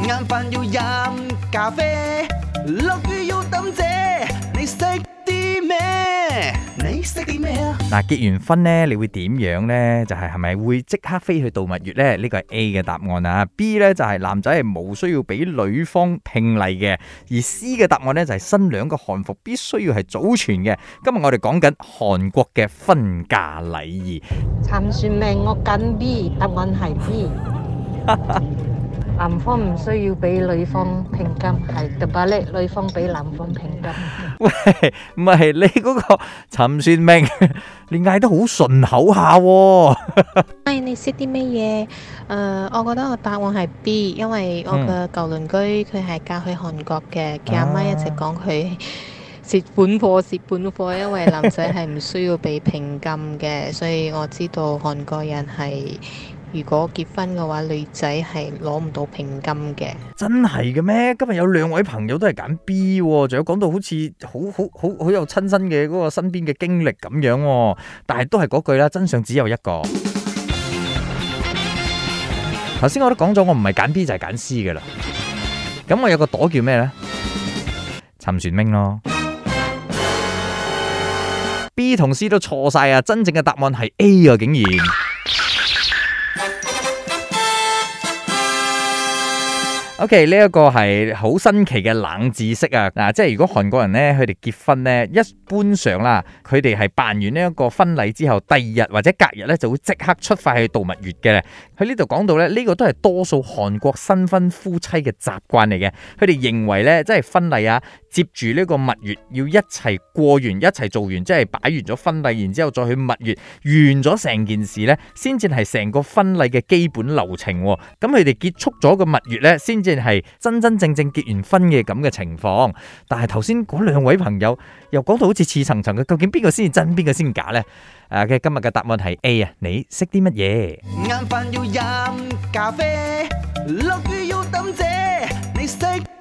晏飯要飲咖啡，落雨要抌遮，你識啲咩？你識啲咩啊？ 嗱，結完婚呢，你會點樣呢？就係咪會即刻飛去度蜜月呢？呢個係 A 嘅答案啊。B 呢就係男仔係冇需要俾女方聘禮嘅，而 C 嘅答案呢就係新娘嘅漢服必須要係祖傳嘅。今日我哋講緊韓國嘅婚嫁禮儀。 陳算命我揀 B，答案係 B。男方唔需要俾女方聘金，係特別叻，女方俾男方聘金。 喂，唔係你嗰個陳算命，你嗌得好順口下喎。 你識啲咩嘢？我覺得我答案係 B， 因為我嘅舊鄰居佢係嫁去韓國嘅，佢阿媽一直講佢蝕本貨，因為男仔係唔需要俾聘金嘅，所以我知道韓國人係如果結婚嘅話，女仔係攞唔到聘金嘅。 真係嘅咩？今日有兩位朋友都係揀 B 喎，仲有講到好似好有親身嘅嗰個身邊嘅經歷咁樣喎。但係都係嗰句啦，真相只有一個。頭先我都講咗，我唔係揀 B 就係揀 C 嘅啦。咁我有個朵叫咩呢？陳算命咯。B 同 C 都錯晒啊！真正嘅答案係 A 啊，竟然。OK， 呢一個係好新奇嘅冷知識啊！嗱，即係如果韓國人呢，佢哋結婚呢，一般上啦，佢哋係辦完呢一個婚禮之後，第二日或者隔日呢，就會即刻出發去度蜜月嘅。喺呢度講到呢，呢個都係多數韓國新婚夫妻嘅習慣嚟嘅。佢哋認為呢，即係婚禮啊，接住呢個蜜月要一齊過完，一齊做完，即係擺完咗婚禮，然之後再去蜜月，完咗成件事呢，先至係成個婚禮嘅基本流程。咁佢哋結束咗個蜜月呢，先至係真真正正結完婚嘅咁嘅情況。但係頭先嗰兩位朋友又講到好似似層層嘅，究竟邊個先係真，邊個先假呢？嘅今日嘅答案係 A 啊！你識啲乜嘢？ 晏飯要飲咖啡，落雨要抌遮，你識